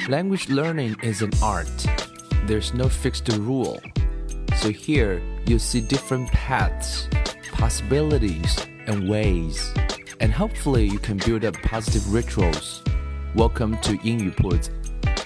Language learning is an art. There's no fixed rule. So here you'll see different paths, possibilities, and ways. And hopefully you can build up positive rituals. Welcome to 英语铺子。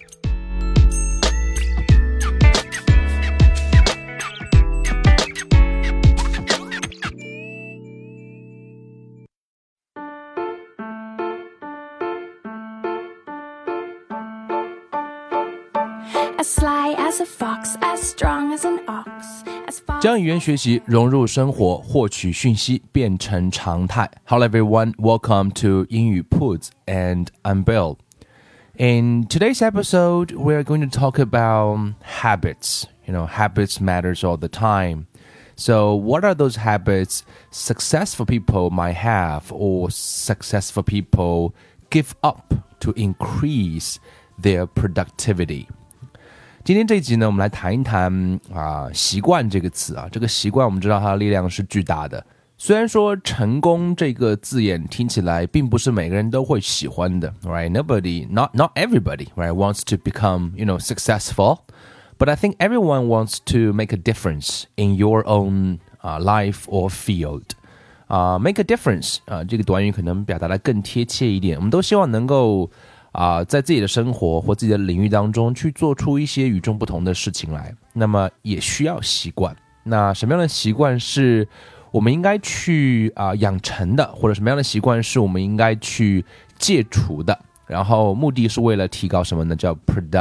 As sly as a fox, as strong as an ox, as far 将语言学习融入生活，获取讯息变成常态。Hello everyone, welcome to 英语铺子 and I'm Bill. In today's episode, we're going to talk about habits. Habits matters all the time. So what are those habits successful people might have or successful people give up to increase their productivity?今天这一集呢，我们来谈一谈习惯这个词啊。这个习惯我们知道它的力量是巨大的。虽然说成功这个字眼听起来并不是每个人都会喜欢的 ，right? Not everybody, right, wants to become, successful. But I think everyone wants to make a difference in your own life or field. Make a difference 这个短语可能表达的更贴切一点。我们都希望能够在自己的生活或自己的领域当中去做出一些与众不同的事情来，那么也需要习惯。那什么样的习惯是我们应该去养成的，或者什么样的习惯是我们应该去戒除的？然后目的是为了提高什么呢？叫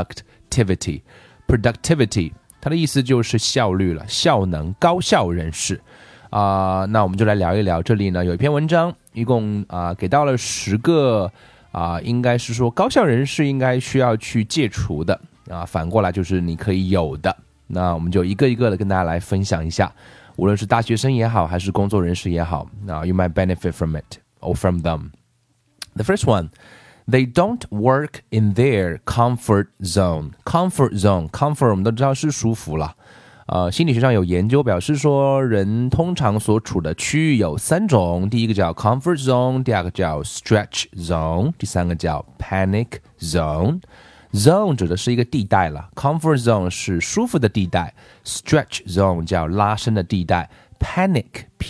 productivity。Productivity 它的意思就是效率了，效能，高效人士。那我们就来聊一聊。这里呢有一篇文章，一共给到了10个。应该是说高效人士应该需要去戒除的反过来就是你可以有的。那我们就一个一个的跟大家来分享一下，无论是大学生也好，还是工作人士也好，you might benefit from it or from them. The first one, they don't work in their comfort zone. Comfort zone 我们都知道是舒服了。心理学上有研究表示说，人通常所处的区域有3种，第一个叫 comfort zone， 第二个叫 stretch zone， 第三个叫 panic zone。zone 指的是一个地带了， comfort zone 是舒服的地带， stretch zone 叫拉伸的地带， panic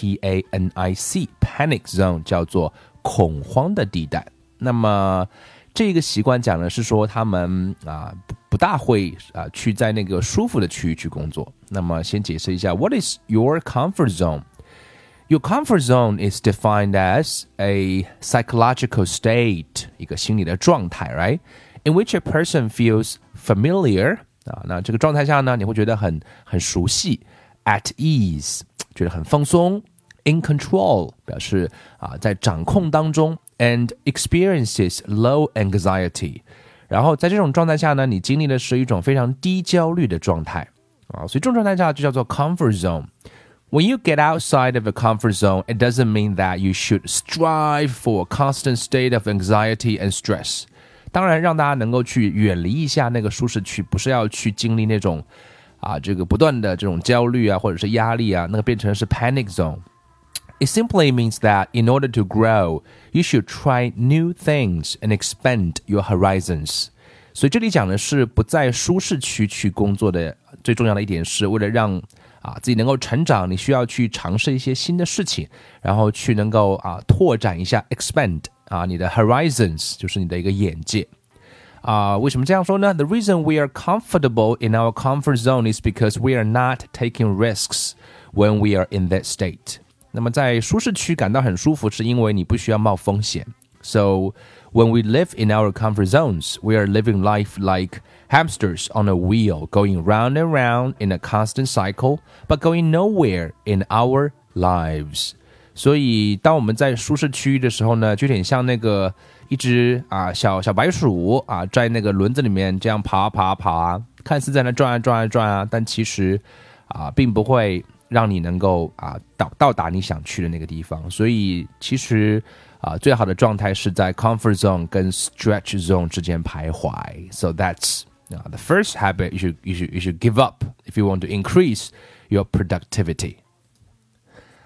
P-A-N-I-C panic zone 叫做恐慌的地带。那么这个习惯讲的是说他们不大会去在那个舒服的区域去工作。那么先解释一下 What is your comfort zone? Your comfort zone is defined as a psychological state, 一个心理的状态 right? In which a person feels familiar 那这个状态下呢，你会觉得很熟悉 at ease 觉得很放松 in control 表示在掌控当中and experiences low anxiety 然后在这种状态下呢，你经历的是一种非常低焦虑的状态所以这种状态下就叫做 comfort zone. When you get outside of a comfort zone, it doesn't mean that you should strive for a constant state of anxiety and stress. 当然让大家能够去远离一下那个舒适区，不是要去经历那种这个不断的这种焦虑或者是压力那个变成是 panic zone.It simply means that in order to grow, you should try new things and expand your horizons. 所以这里讲的是不在舒适区去工作的最重要的一点是为了让自己能够成长，你需要去尝试一些新的事情，然后去能够拓展一下 expand 你的 horizons 就是你的一个眼界。为什么这样说呢？ The reason we are comfortable in our comfort zone is because we are not taking risks when we are in that state.那么在舒适区感到很舒服是因为你不需要冒风险 So when we live in our comfort zones, we are living life like hamsters on a wheel, going round and round in a constant cycle, but going nowhere in our lives. 所以当我们在舒适区域的时候呢，就有点像那个一只小白鼠在那个轮子里面这样爬看似在那转但其实并不会让你能够到达你想去的那个地方。所以其实最好的状态是在 comfort zone 跟 stretch zone 之间徘徊。So that's the first habit you should give up if you want to increase your productivity.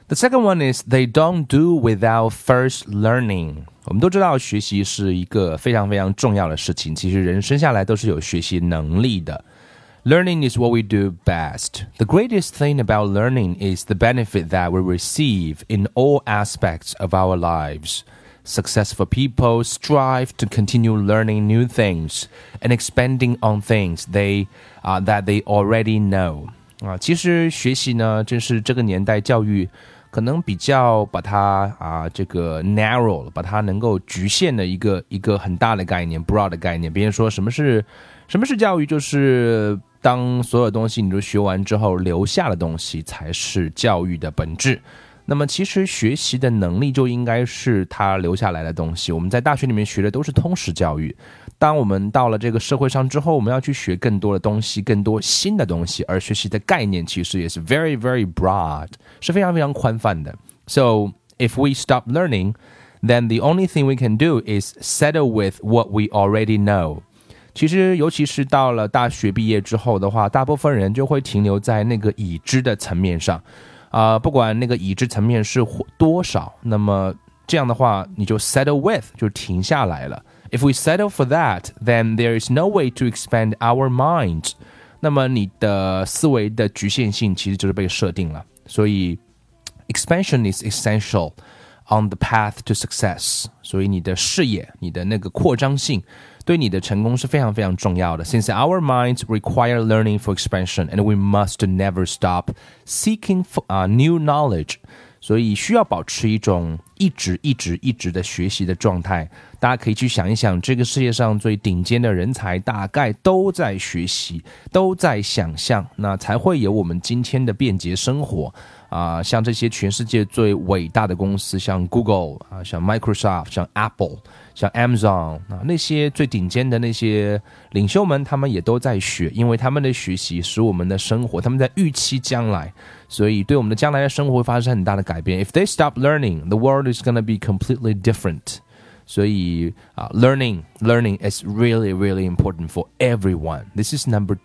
The second one is they don't do without first learning. 我们都知道学习是一个非常非常重要的事情，其实人生下来都是有学习能力的。Learning is what we do best. The greatest thing about learning is the benefit that we receive in all aspects of our lives. Successful people strive to continue learning new things and expanding on things that they already know. 其实学习呢，正是这个年代教育可能比较把它这个 narrow 了，把它能够局限的一个很大的概念 broad 的概念。别人说什么是教育，就是当所有东西你都学完之后，留下的东西才是教育的本质。那么其实学习的能力就应该是他留下来的东西。我们在大学里面学的都是通识教育，当我们到了这个社会上之后，我们要去学更多的东西，更多新的东西，而学习的概念其实也是 very very broad， 是非常非常宽泛的。 So if we stop learning, then the only thing we can do is settle with what we already know。 其实尤其是到了大学毕业之后的话，大部分人就会停留在那个已知的层面上，不管那个已知层面是多少，那么这样的话你就 settle with 就停下来了。 If we settle for that, then there is no way to expand our mind。 那么你的思维的局限性其实就是被设定了。所以 expansion is essential on the path to success。 所以你的视野，你的那个扩张性对你的成功是非常非常重要的。 Since our minds require learning for expansion, and we must never stop seeking for, new knowledge。 所以需要保持一种一直的学习的状态。大家可以去想一想，这个世界上最顶尖的人才大概都在学习，都在想象，那才会有我们今天的便捷生活。像这些全世界最伟大的公司，像 Google，像 Microsoft， 像 Apple， 像 Amazon，那些最顶尖的那些领袖们，他们也都在学，因为他们的学习使我们的生活，他们在预期将来，所以对我们的将来的生活会发生很大的改变。 If they stop learning, the world is going to be completely different。 所以learning is really really important for everyone. This is number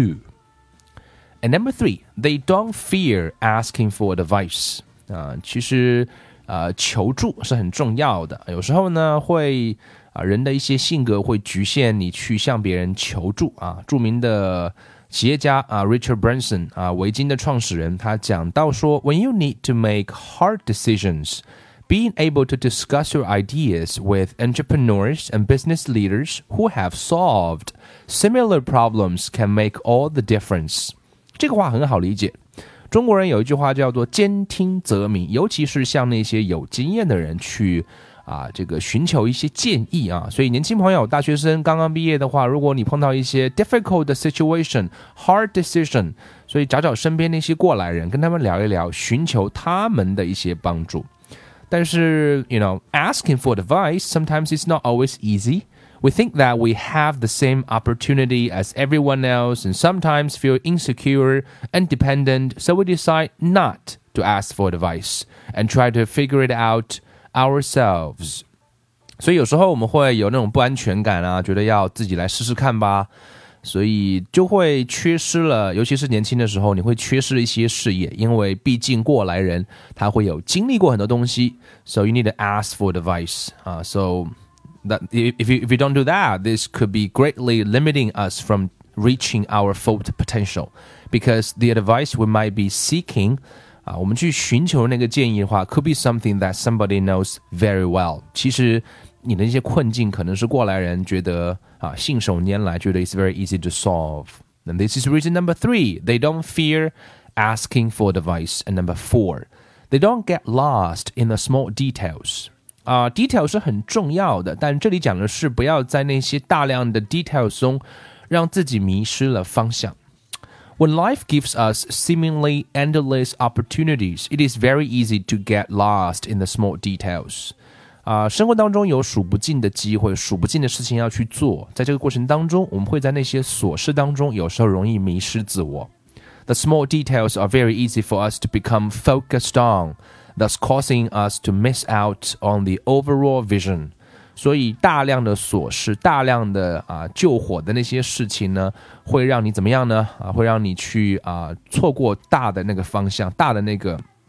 2。And number 3, they don't fear asking for advice。 其实求助是很重要的。有时候呢会人的一些性格会局限你去向别人求助。著名的企业家Richard Branson， 维京的创始人，他讲到说 When you need to make hard decisions, being able to discuss your ideas with entrepreneurs and business leaders who have solved similar problems can make all the difference。这个话很好理解。中国人有一句话叫做兼听则明，尤其是向那些有经验的人去这个寻求一些建议所以年轻朋友，大学生刚刚毕业的话，如果你碰到一些 difficult situation, hard decision， 所以找身边那些过来人，跟他们聊一聊，寻求他们的一些帮助。但是 asking for advice sometimes is not always easy。We think that we have the same opportunity as everyone else and sometimes feel insecure and dependent, so we decide not to ask for advice and try to figure it out ourselves. 所以有时候我们会有那种不安全感觉得要自己来试试看吧，所以就会缺失了，尤其是年轻的时候，你会缺失一些视野，因为毕竟过来人他会有经历过很多东西。 So you need to ask for advice. So...That if you don't do that, this could be greatly limiting us from reaching our full potential, because the advice we might be seeking, 我们去寻求那个建议的话 could be something that somebody knows very well. 其实你的一些困境可能是过来人觉得信手拈来，觉得 it's very easy to solve. And this is reason number 3. They don't fear asking for advice. And number 4, they don't get lost in the small details.detail 是很重要的，但这里讲的是不要在那些大量的 details 中让自己迷失了方向。When life gives us seemingly endless opportunities, it is very easy to get lost in the small details. 生活当中有数不尽的机会，数不尽的事情要去做，在这个过程当中，我们会在那些琐事当中有时候容易迷失自我。The small details are very easy for us to become focused on.Thus causing us to miss out on the overall vision. 所以大量的琐事，大量的救火的那些事情呢，会让你怎么样呢？会让你去错过大的那个方向，大的那个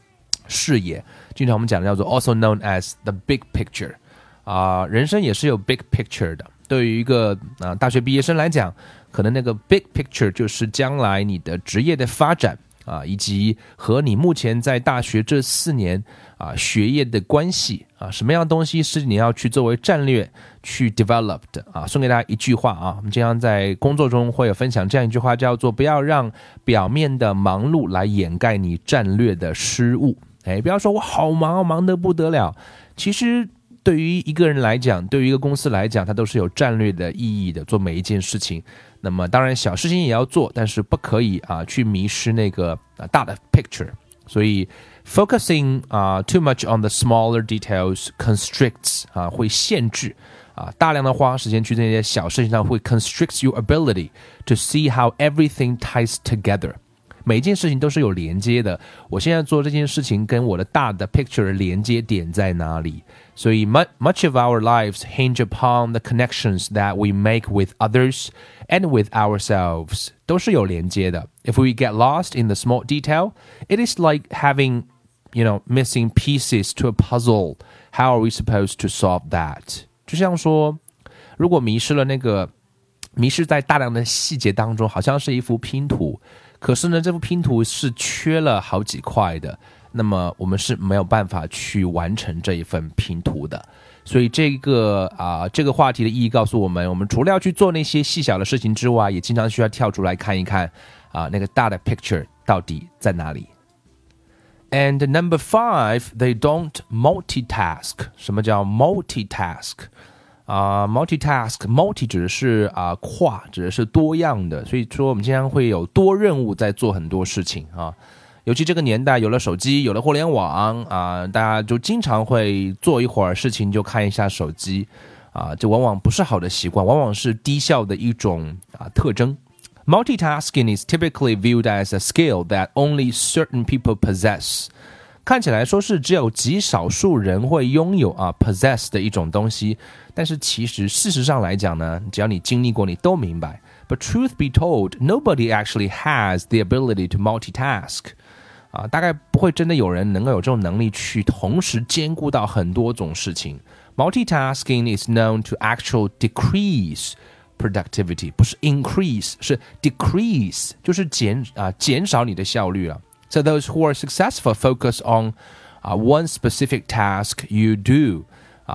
视野，经常我们讲的叫做 also known as the big picture。人生也是有 big picture 的。对于一个大学毕业生来讲，可能那个 big picture 就是将来你的职业的发展以及和你目前在大学这4年学业的关系什么样的东西是你要去作为战略去 develop 的送给大家一句话我们经常在工作中会有分享这样一句话，叫做不要让表面的忙碌来掩盖你战略的失误。不要说我好忙，忙得不得了，其实对于一个人来讲，对于一个公司来讲，它都是有战略的意义的，做每一件事情。那么当然小事情也要做，但是不可以去迷失那个大的 picture。所以 focusing too much on the smaller details constricts 会限制大量的花时间去这些小事情上，会 constricts your ability to see how everything ties together。每一件事情都是有连接的，我现在做这件事情跟我的大的 picture 连接点在哪里？所以 much of our lives hinge upon the connections that we make with others and with ourselves， 都是有连接的。If we get lost in the small detail, it is like having, missing pieces to a puzzle. How are we supposed to solve that? 就像说，如果迷失在大量的细节当中，好像是一幅拼图。可是呢，这幅拼图是缺了好几块的，那么我们是没有办法去完成这一份拼图的。所以这个话题的意义告诉我们，我们除了要去做那些细小的事情之外，也经常需要跳出来看一看那个大的 picture 到底在哪里。And number 5, they don't multitask. 什么叫 multitask?multi 指的是跨，指的是多样的，所以说我们经常会有多任务在做很多事情尤其这个年代有了手机，有了互联网大家就经常会做一会儿事情就看一下手机这往往不是好的习惯，往往是低效的一种特征。Multitasking is typically viewed as a skill that only certain people possess。看起来说是只有极少数人会拥有possess 的一种东西，但是其实事实上来讲呢，只要你经历过，你都明白。But truth be told, nobody actually has the ability to multitask。大概不会真的有人能够有这种能力去同时兼顾到很多种事情。Multitasking is known to actually decrease productivity， 不是 increase， 是 decrease， 就是减少你的效率了。So those who are successful focus on one specific task you do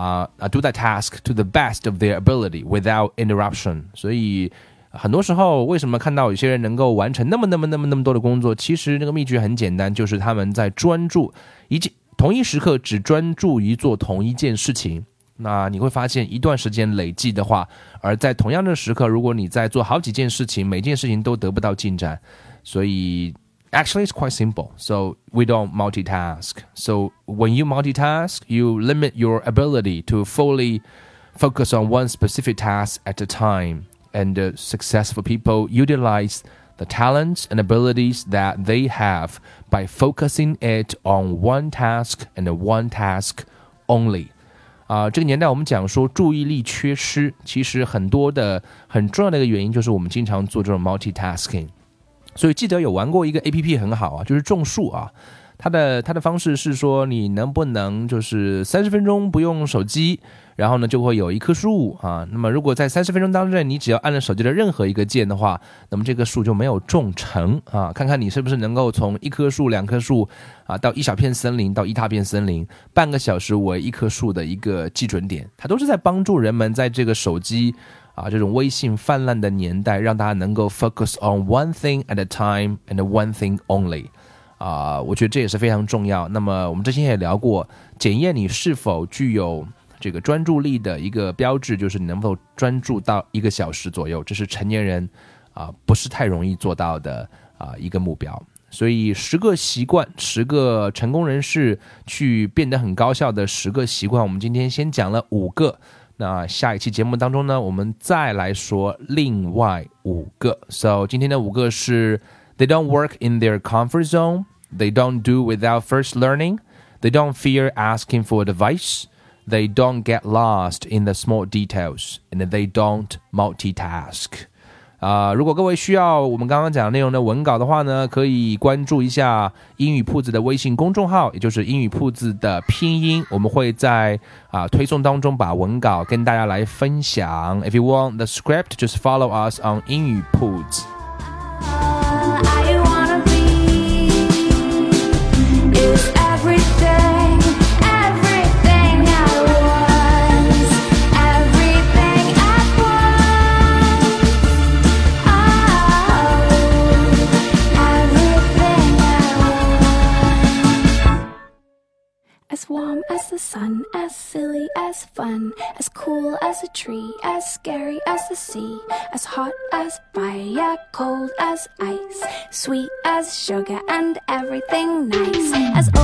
that task to the best of their ability without interruption. 所以很多时候为什么看到有些人能够完成那么多的工作，其实那个秘诀很简单，就是他们在专注同一时刻只专注于做同一件事情。那你会发现一段时间累计的话，而在同样的时刻，如果你在做好几件事情，每件事情都得不到进展，所以Actually, it's quite simple. So we don't multitask. So when you multitask, you limit your ability to fully focus on one specific task at a time. And successful people utilize the talents and abilities that they have by focusing it on one task and one task only. 这个年代我们讲说注意力缺失，其实很重要的一个原因就是我们经常做这种 multitasking。所以记得有玩过一个 APP 很好就是种树它的方式是说你能不能就是30分钟不用手机，然后呢就会有一棵树那么如果在30分钟当中你只要按了手机的任何一个键的话，那么这个树就没有种成看看你是不是能够从一棵树2棵树到一小片森林到一大片森林，半个小时为一棵树的一个基准点，它都是在帮助人们在这个手机这种微信泛滥的年代，让大家能够 focus on one thing at a time and one thing only。我觉得这也是非常重要。那么我们之前也聊过，检验你是否具有这个专注力的一个标志，就是你能否专注到1个小时左右，这是成年人不是太容易做到的一个目标。所以10个习惯，10个成功人士去变得很高效的10个习惯，我们今天先讲了5个。那下一期节目当中呢，我们再来说另外5个。So 今天的5个是 They don't work in their comfort zone, They don't do without first learning, They don't fear asking for advice, They don't get lost in the small details, and they don't multitask. 如果各位需要我们刚刚讲的内容的文稿的话呢，可以关注一下英语铺子的微信公众号，也就是英语铺子的拼音，我们会在推送当中把文稿跟大家来分享。If you want the script, just follow us on 英语铺子。 As warm as the sun, as silly as fun, as cool as a tree, as scary as the sea, as hot as fire, cold as ice, sweet as sugar and everything nice, as